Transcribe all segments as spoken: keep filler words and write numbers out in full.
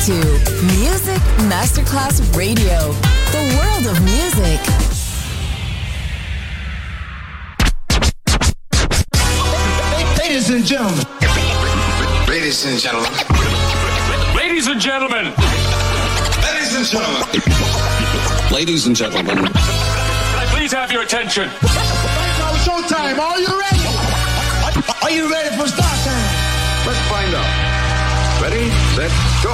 to Music Masterclass Radio, the world of music. Ladies and gentlemen. Ladies and gentlemen. Ladies and gentlemen. Ladies and gentlemen. Ladies and gentlemen. Can I please have your attention? Now showtime. Are you ready? Are you ready for start time? Let's find out. Ready, set, go.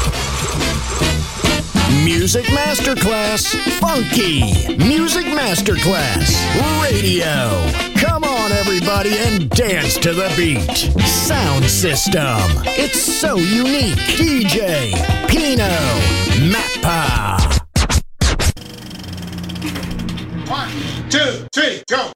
Music Masterclass Funky. Music Masterclass Radio. Come on, everybody, and dance to the beat. Sound system. It's so unique. D J Pino Mappa. One, two, three, go.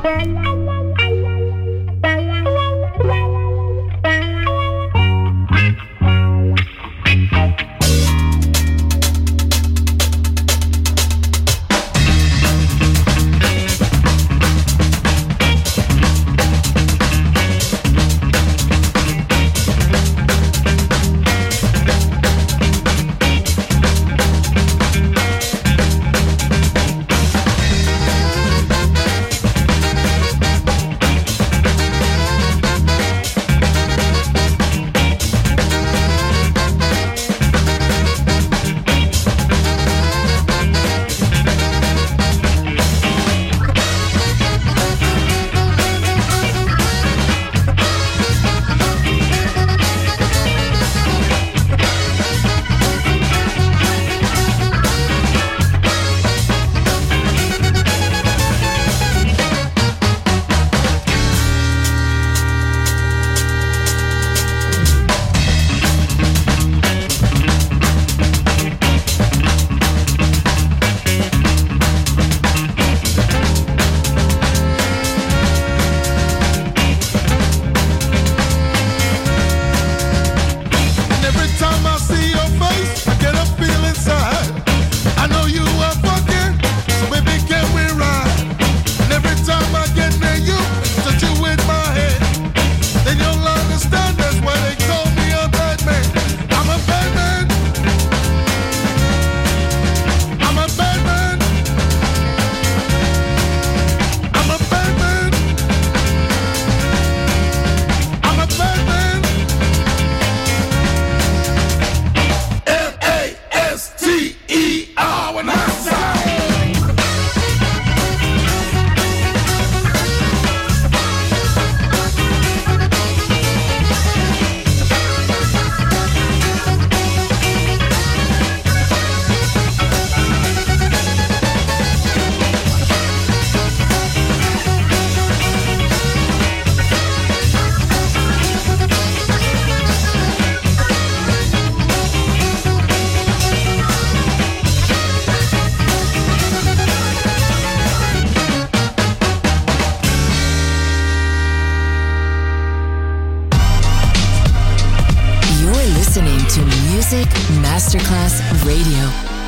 Music Masterclass Radio.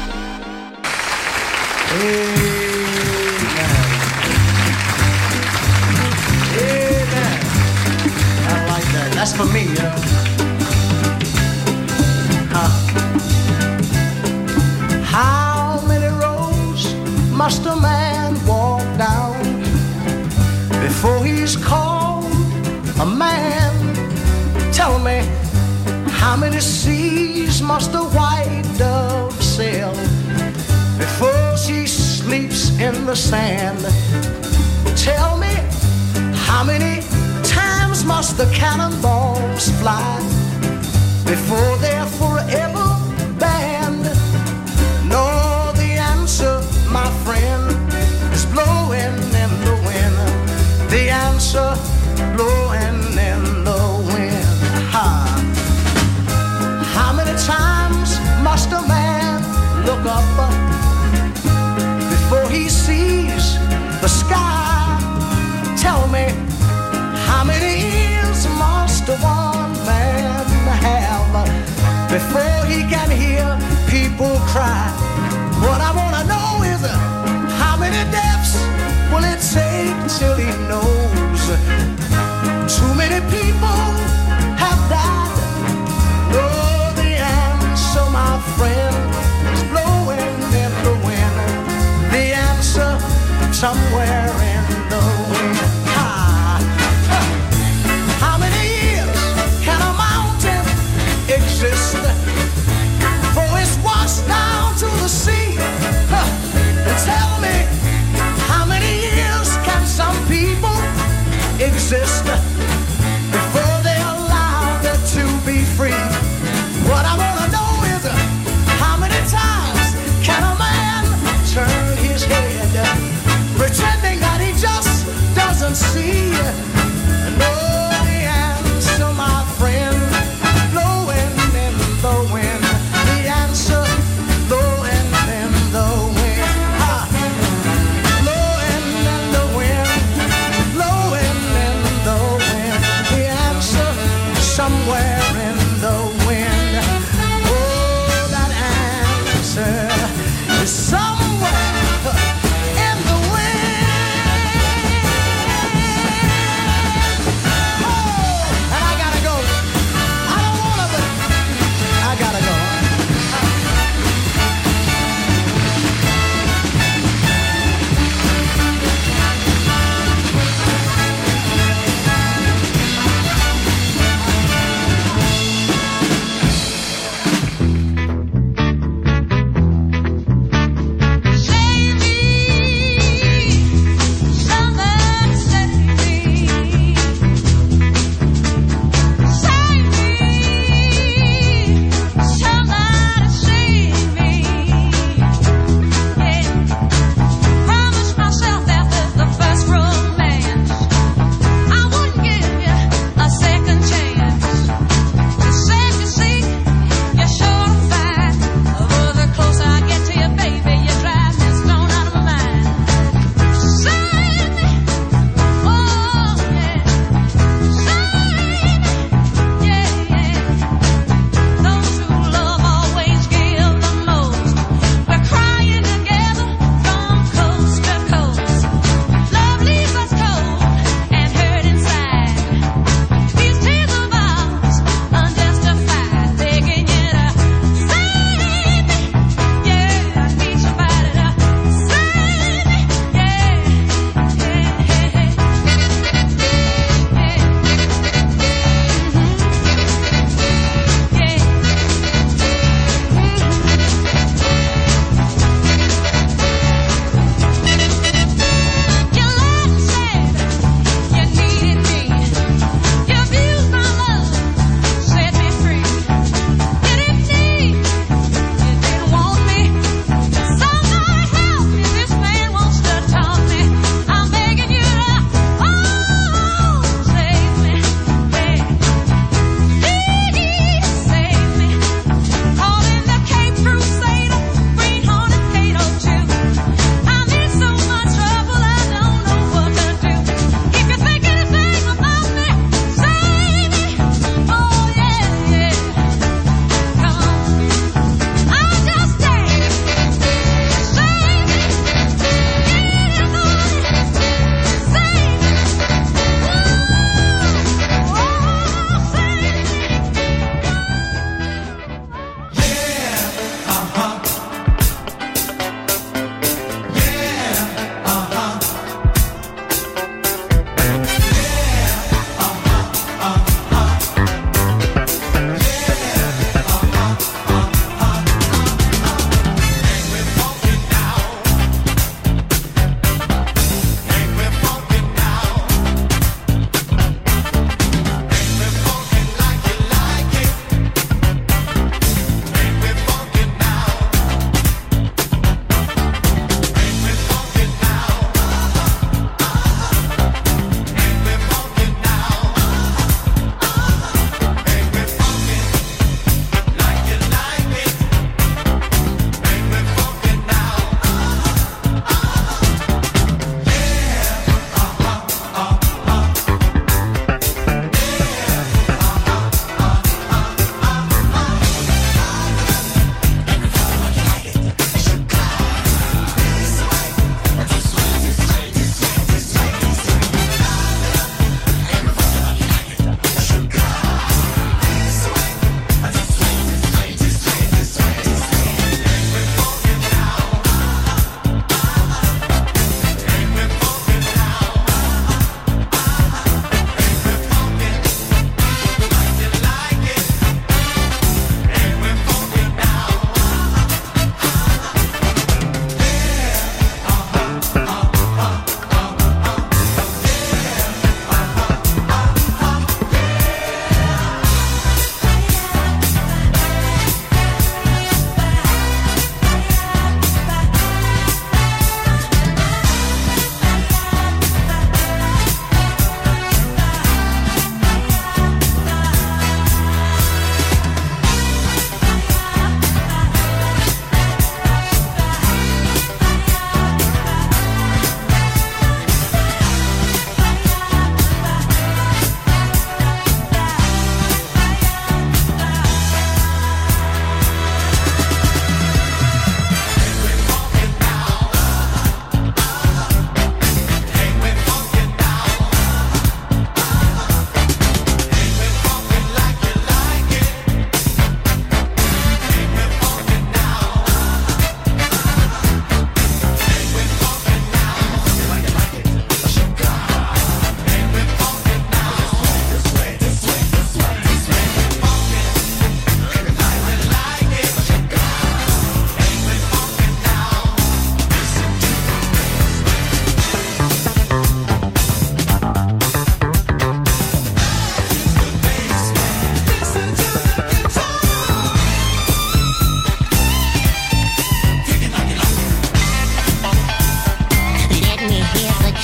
Amen. Amen. I like that. That's for me, you know. Huh. How many roads must a man walk down before he's called a man? Tell me, how many seas must a white dove sail before she sleeps in the sand? Tell me, how many times must the cannonballs fly before they're forever banned? No, the answer, my friend, is blowing in the wind. The answer, blowing in the wind. Ha! How many times must a man look up before he sees the sky? Tell me, how many ears must one man have before he can hear people cry? What I want to know is, how many deaths will it take till he knows? Too many people have died. Oh, the answer, my friend, is blowing in the wind. The answer, somewhere in the wind. Ah. How many years can a mountain exist before it's washed down to the sea? Huh. Tell me, how many years can some people exist before they're allowed to be free? What I want to know is, how many times can a man turn his head pretending that he just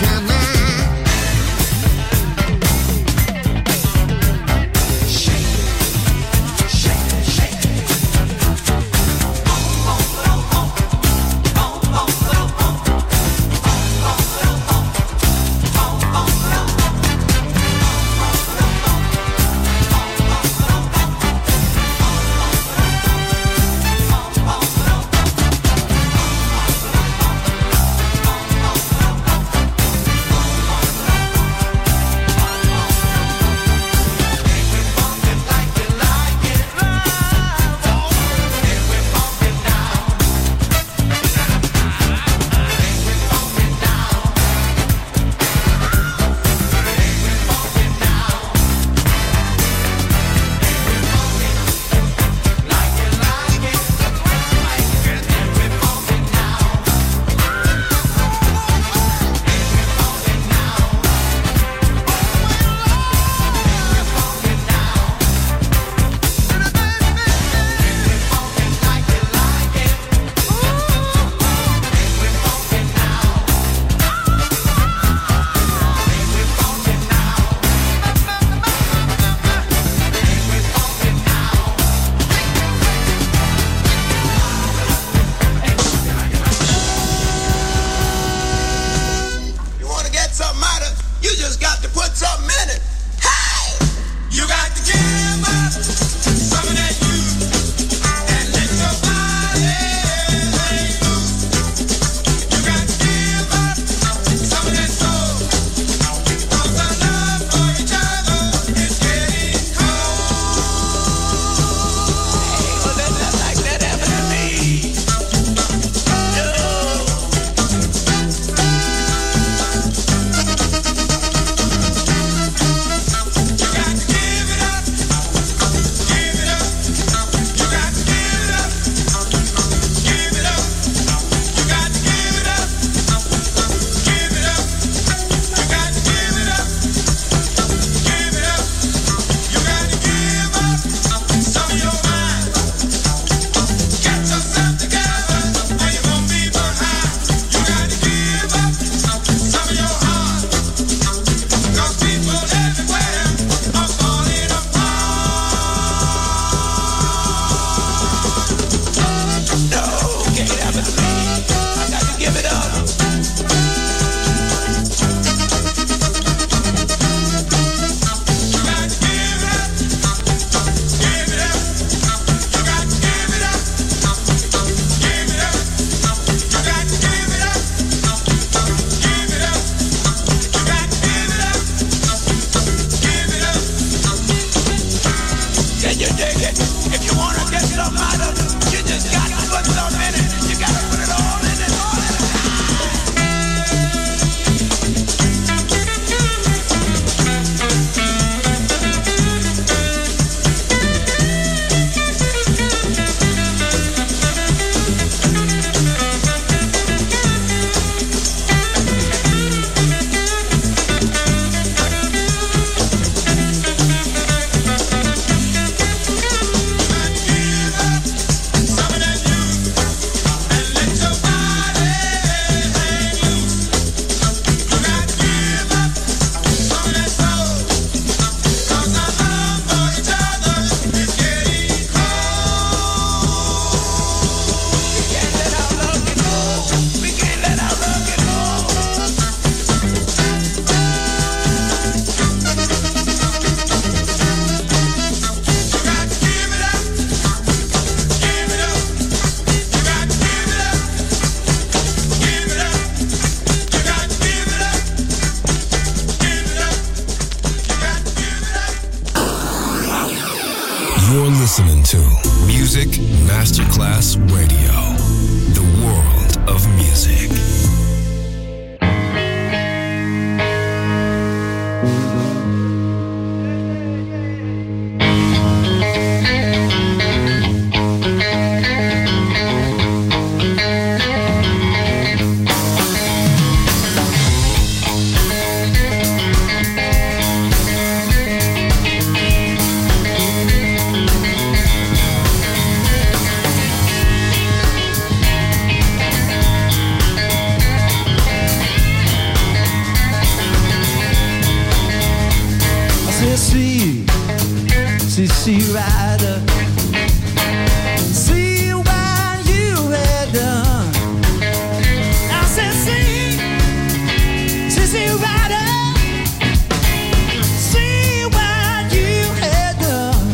You're listening to Music Masterclass Radio, the world of music. see, see, see, rider. See what you had done. I said, see, see, see, rider. See what you had done.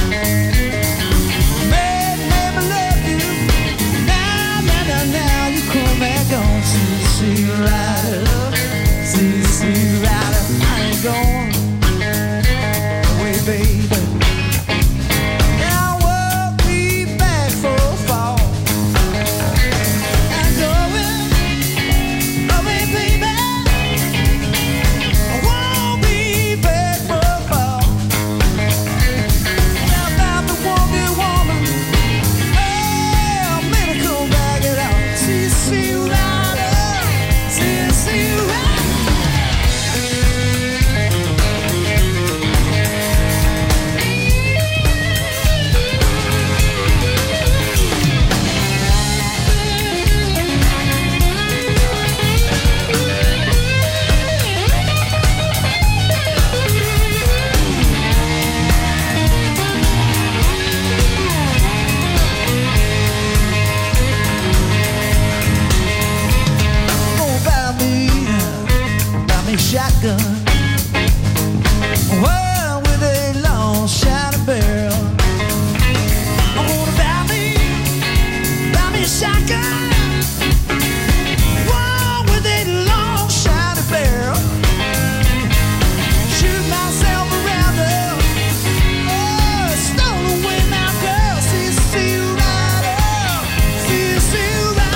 Made, made me love you. Now, now, now, now you come back on. See, see, rider. See, see, rider. I ain't going away, baby. Shotgun, well, with a long shiny barrel. I wanna buy me, buy me a shotgun, well, with a long shiny barrel. Shoot myself around her, oh, stole away my girl. See, see you rider, see, see you rider.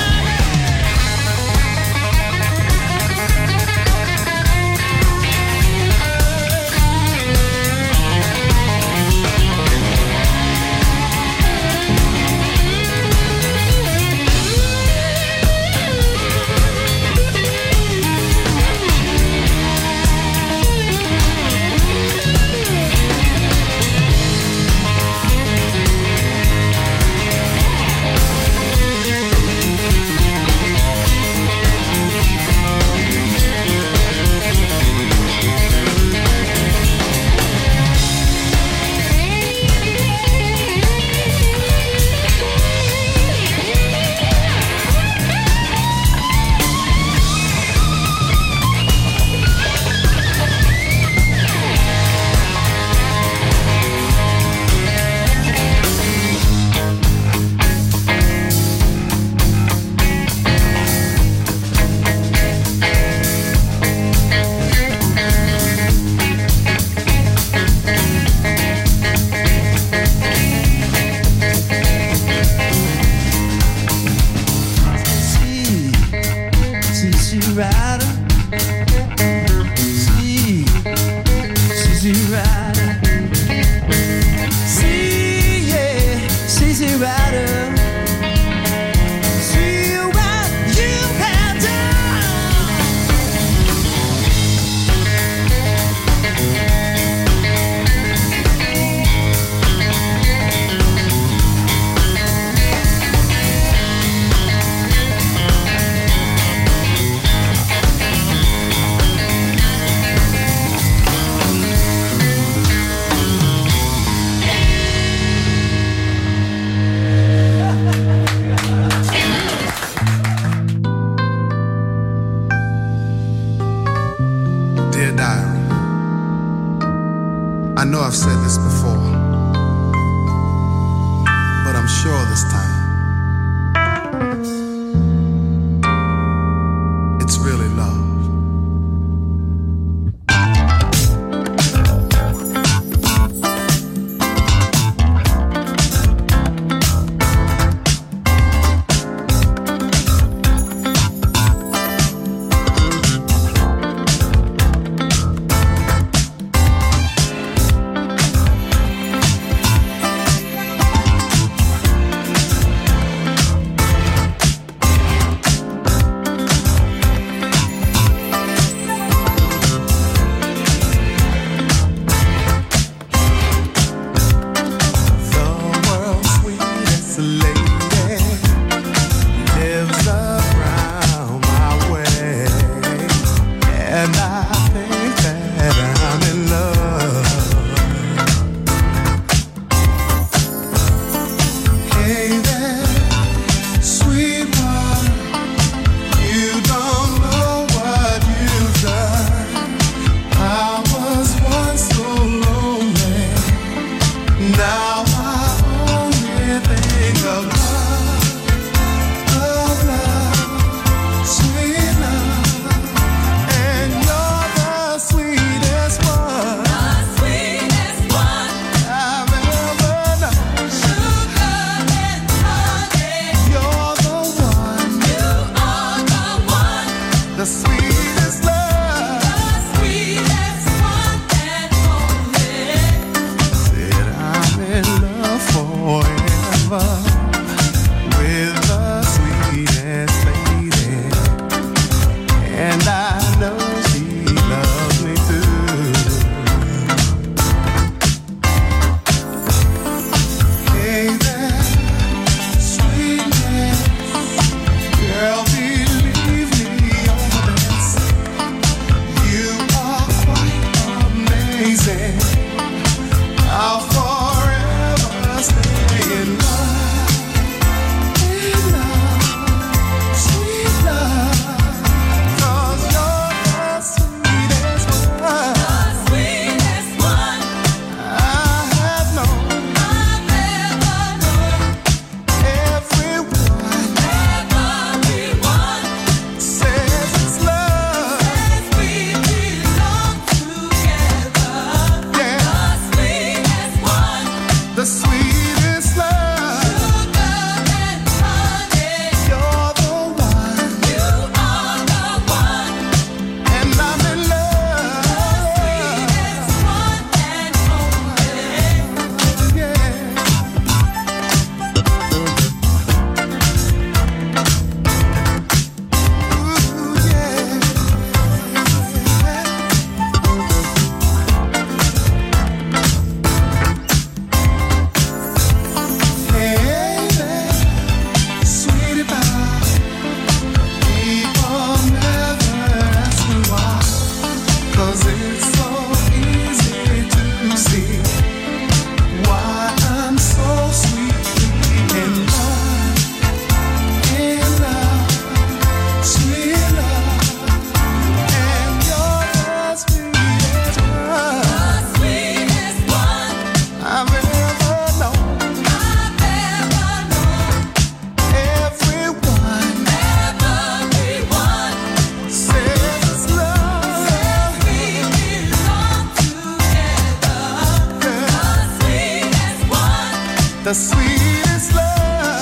the sweetest love.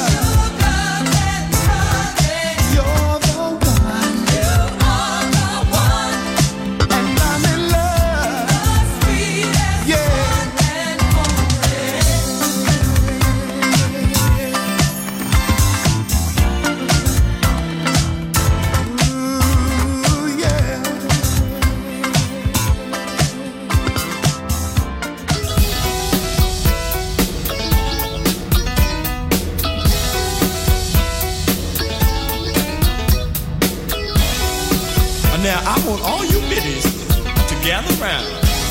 Now, I want all you biddies to gather round.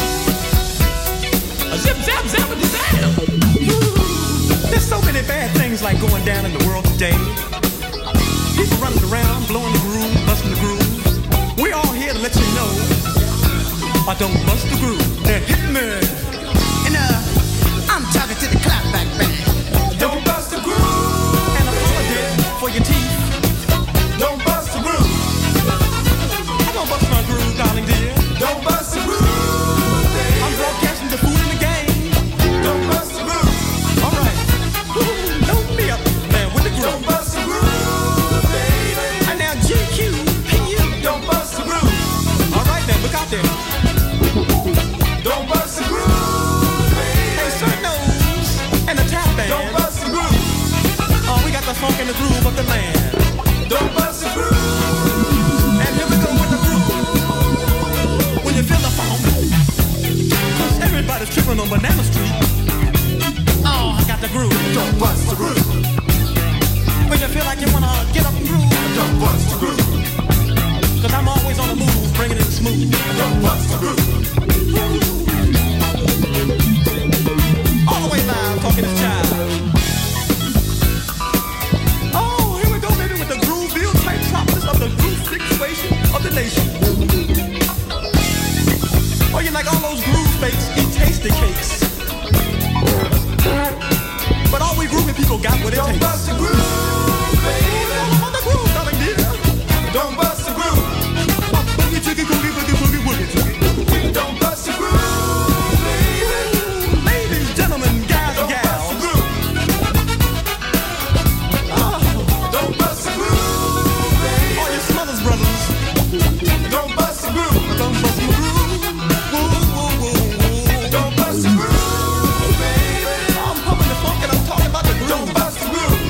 A zip, zap, zap, a zap. There's so many bad things like going down in the world today. People running around, blowing the groove, busting the groove. We're all here to let you know, I don't bust the groove. They're hitting me. And uh, I'm talking to the clapback band. Don't bust the groove. And a holiday for your teeth. Don't bust the groove. Don't bust my groove, darling dear. Don't bust the groove, baby. I'm broadcasting the food in the game. Don't bust the groove. All right. Ooh, don't be up, man, with the groove. Don't bust the groove, baby. And now G Q, hey you. Don't bust the groove. All right then, look out there. Don't bust the groove, baby. Hey, Sir Nose and the tap band. Don't bust the groove. Oh, we got the funk and the groove of the land. Don't bust the groove. And here we go with the groove. When you feel the funk, cause everybody's tripping on Banana Street. Oh, I got the groove. Don't bust the groove. When you feel like you wanna get up and groove. Don't bust the groove. Cause I'm always on the move, bringing it smooth. Don't bust the groove. All the way live, talking this child. Oh, here we go, baby, with the groove-ville type tropics of the groove situation of the nation. Oh, you like all those groove fakes, eat tasty cakes. But all we groovy people got what it takes. Don't bust the groove, baby. All on the groove, darling dear. Don't bust the groove. Boogie, jiggy, boogie, boogie, boogie, boogie, jiggy. Don't bust the groove, baby. Ladies, gentlemen, guys, and gals. Oh, don't bust the groove, baby. All your smothers, brothers. Don't bust the groove. Don't bust the groove. Don't bust the groove, baby. I'm pumping the funk and I'm talking about the groove. Don't bust the groove.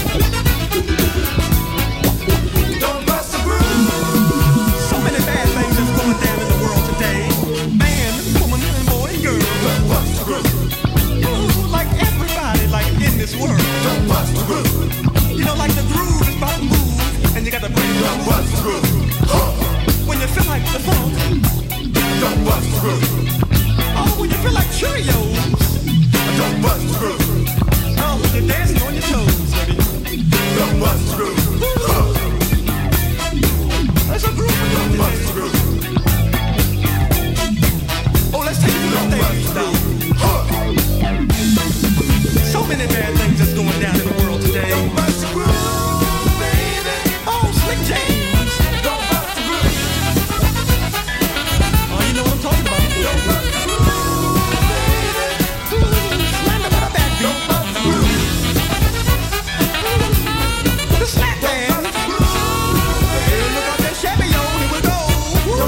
Don't bust the groove. So many bad things that's going down in the world today. Man, woman, and boy, and girl. Don't bust the groove. Ooh, like everybody, like in this world. Don't bust the groove. You know, like the groove is about to move, and you got to bring it. Don't bust the groove. Huh. When you feel like the funk. Don't bust the groove. Oh, when you feel like Cheerios. Don't bust the groove. Oh, when you're dancing on your toes, baby. Don't bust the groove. Huh. That's a groove. Don't bust the groove. Oh, let's take it to the stage now. Huh. So many bad things that's going down in the world today. Don't bust the groove, baby. Oh, Slick James. Don't bust the groove. Oh, you know what I'm talking about. Don't bust the groove, baby. Slam it with a backbeat. Don't bust the groove. The slap band. Hey, look out there, Chevy, yo, here we go. Woo.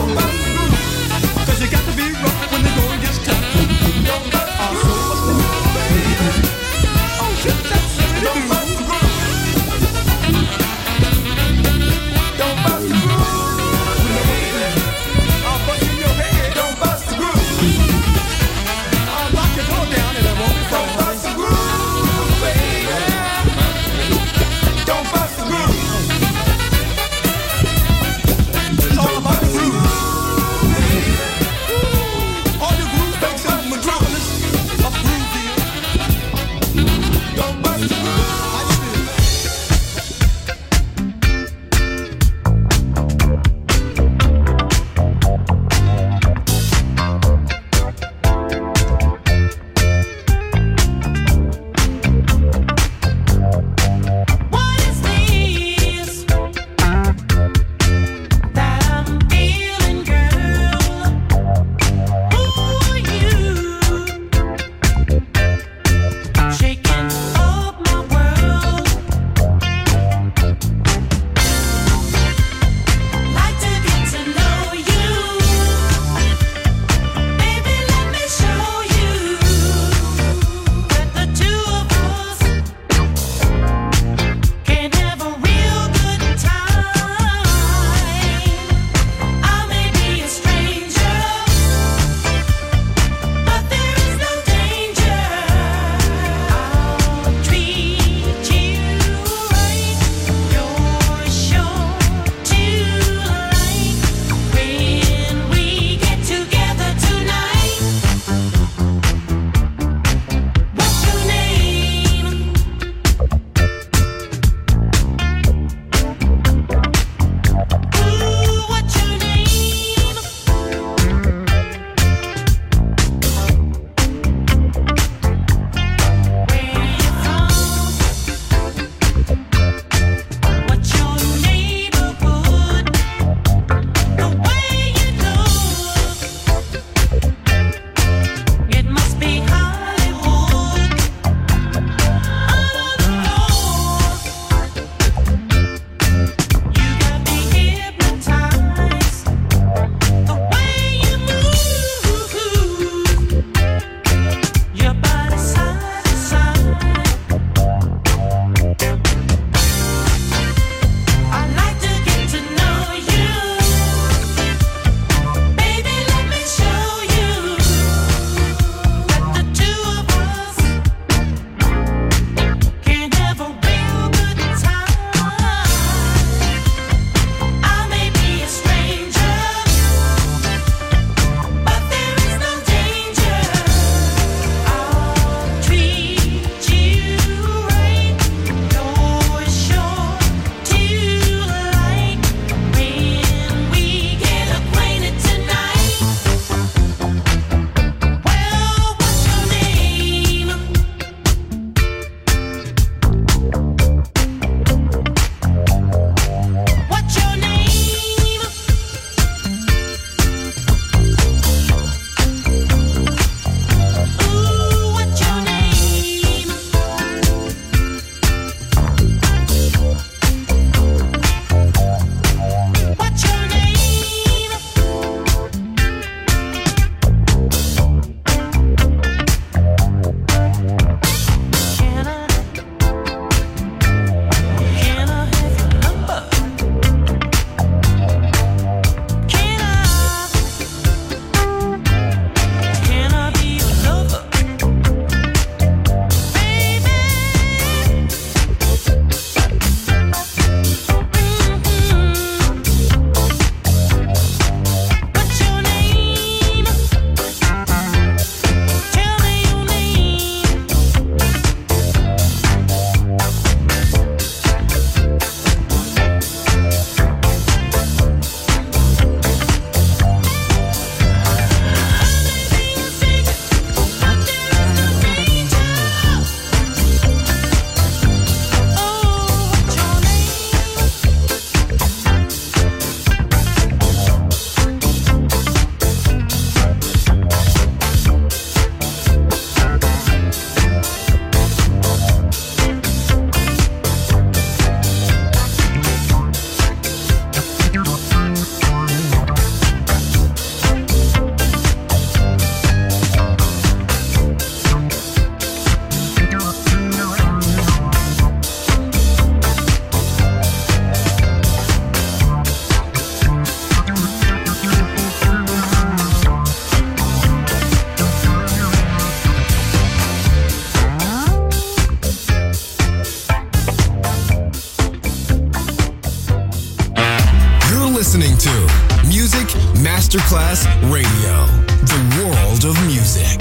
Masterclass Radio, the world of music.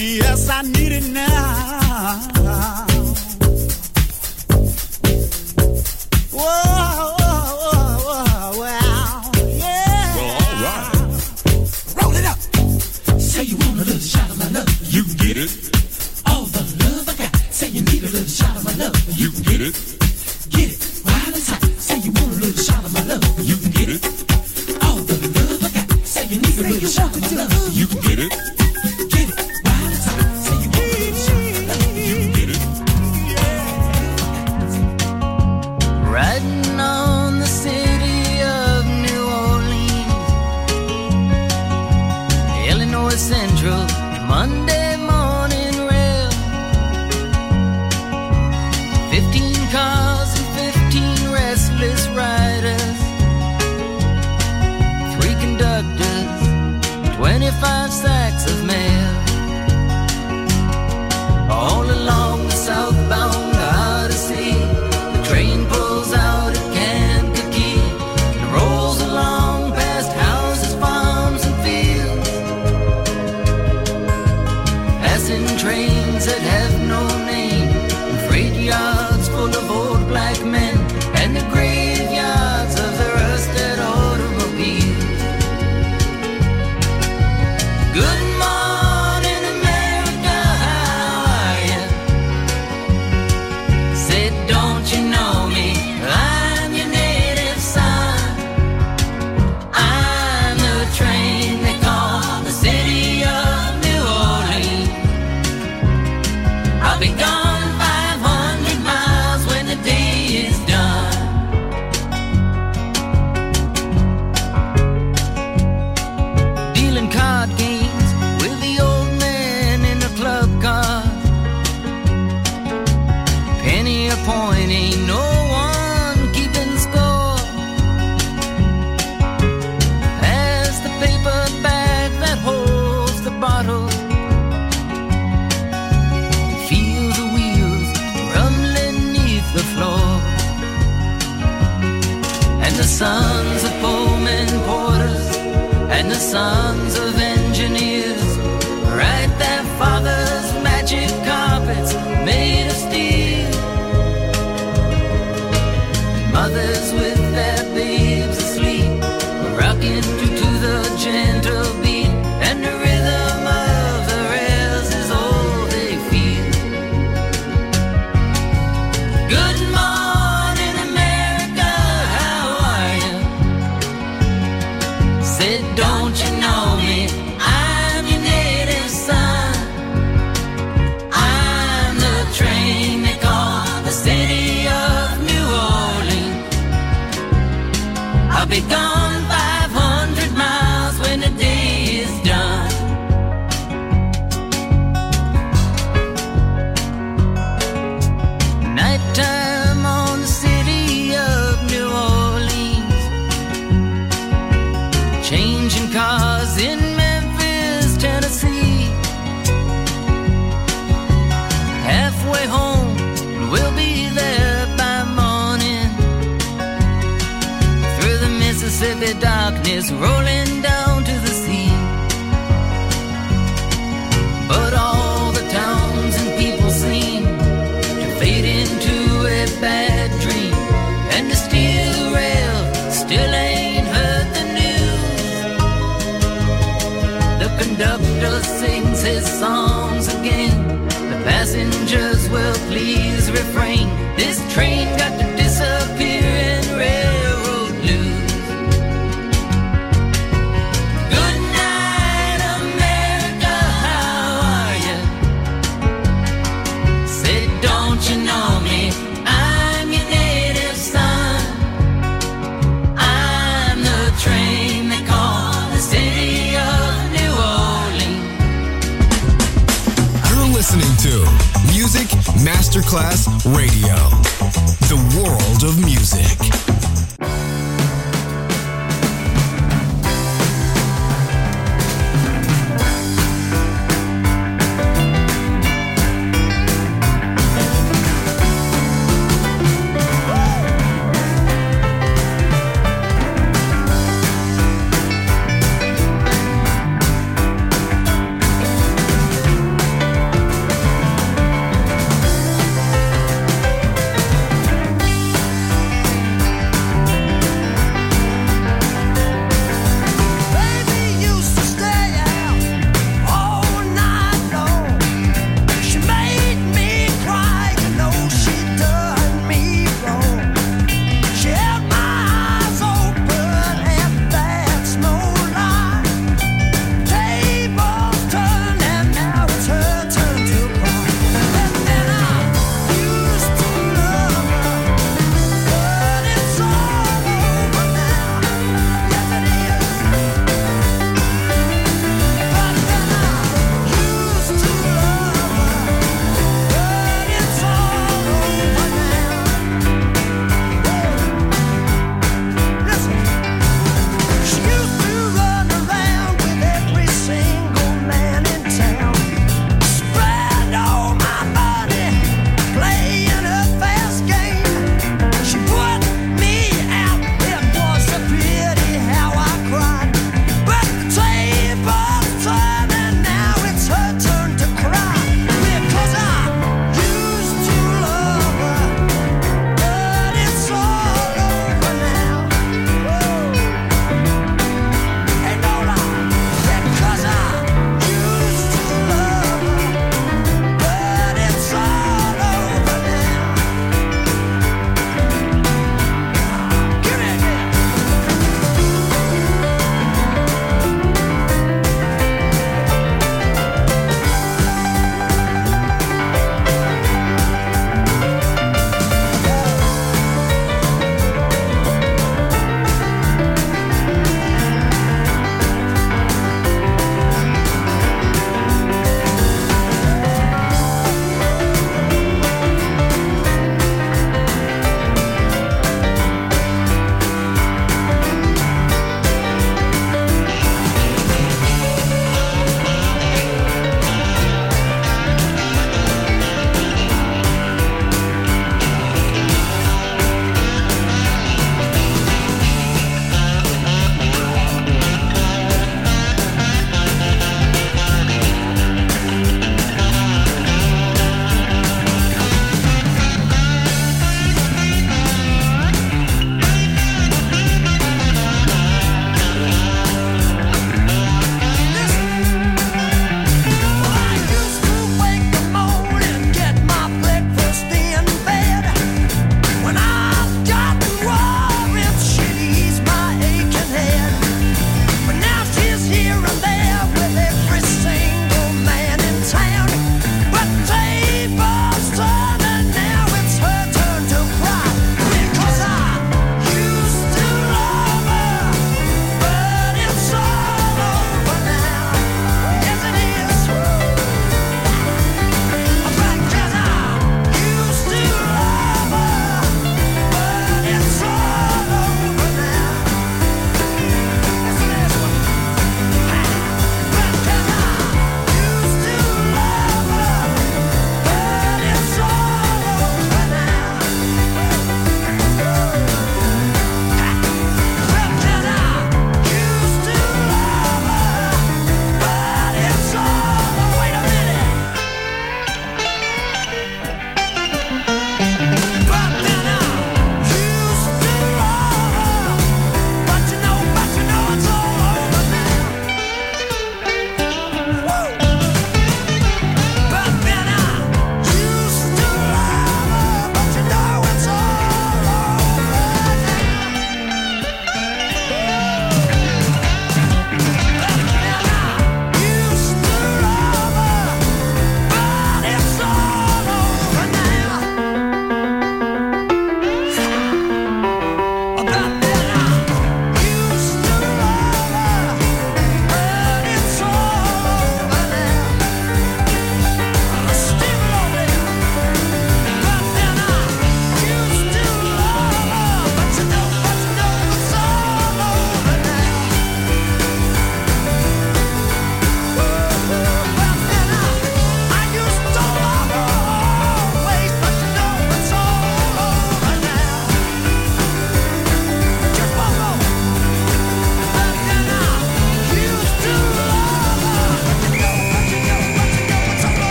Yes, I need it now. Whoa, whoa, whoa, wow, yeah. Well, all right. Roll it up. Say you want a little shot of my love. You get it. All the love I got. Say you need a little shot of my love. You get it. Get it while it's hot. Say you want a little shot of my love. You can get it. All the love I got. Say you need a little shot of my love. You can get it. Get it while it's hot. Say you want a little shot of my love. You can get it. Riding on the city of New Orleans, Illinois Central, Monday morning rail. Fifteen cars and fifteen restless riders, three conductors, twenty-five sacks of mail. All along the southbound Odyssey, the train pulls out at Kankakee and rolls along past houses, farms, and fields, passing trains that have no name, and freight yards full of old black men, and the graveyards of the rusted automobiles. Good morning, America, how are you? Said, don't you know me? I'm your native son. I'm the train they call the city of New Orleans. I'll be gone five hundred miles when the day is done. Dealing card games with the old man in the club car. Penny a point, ain't no one keeping score. Pass the paper bag that holds the bottle. Feel the wheels rumbling neath the floor. And the sons of Pullman porters and the sons of engineers write their father's magic carpets made of steel. Mothers with their babes asleep, rocking to, to the gentle beat, and the rhythm of the rails is all they feel. Good morning, America, how are you? Said, don't you know me? I'm your native son. I'm the train they call the city of New Orleans. I'll be gone five hundred miles when the day is done. Nighttime on the city of New Orleans, changing cars in Memphis, Tennessee. Halfway home, and we'll be there by morning. Through the Mississippi darkness, rolling down to the sea. But all the towns and people seem to fade into a bad dream, and the steel rail still ain't heard the news. The conductor sings his songs again. The passengers will please refrain. This train got to disappear in railroad blues. Good night, America, how are you? Say, don't you know me? I'm your native son. I'm the train they call the city of New Orleans. You're listening to Music Masterclass Radio, the world of music.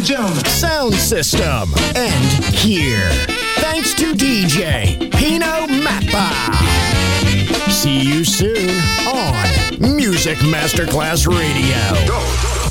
and gentlemen. Sound system. And here. Thanks to D J Pino Mappa. See you soon on Music Masterclass Radio. Go.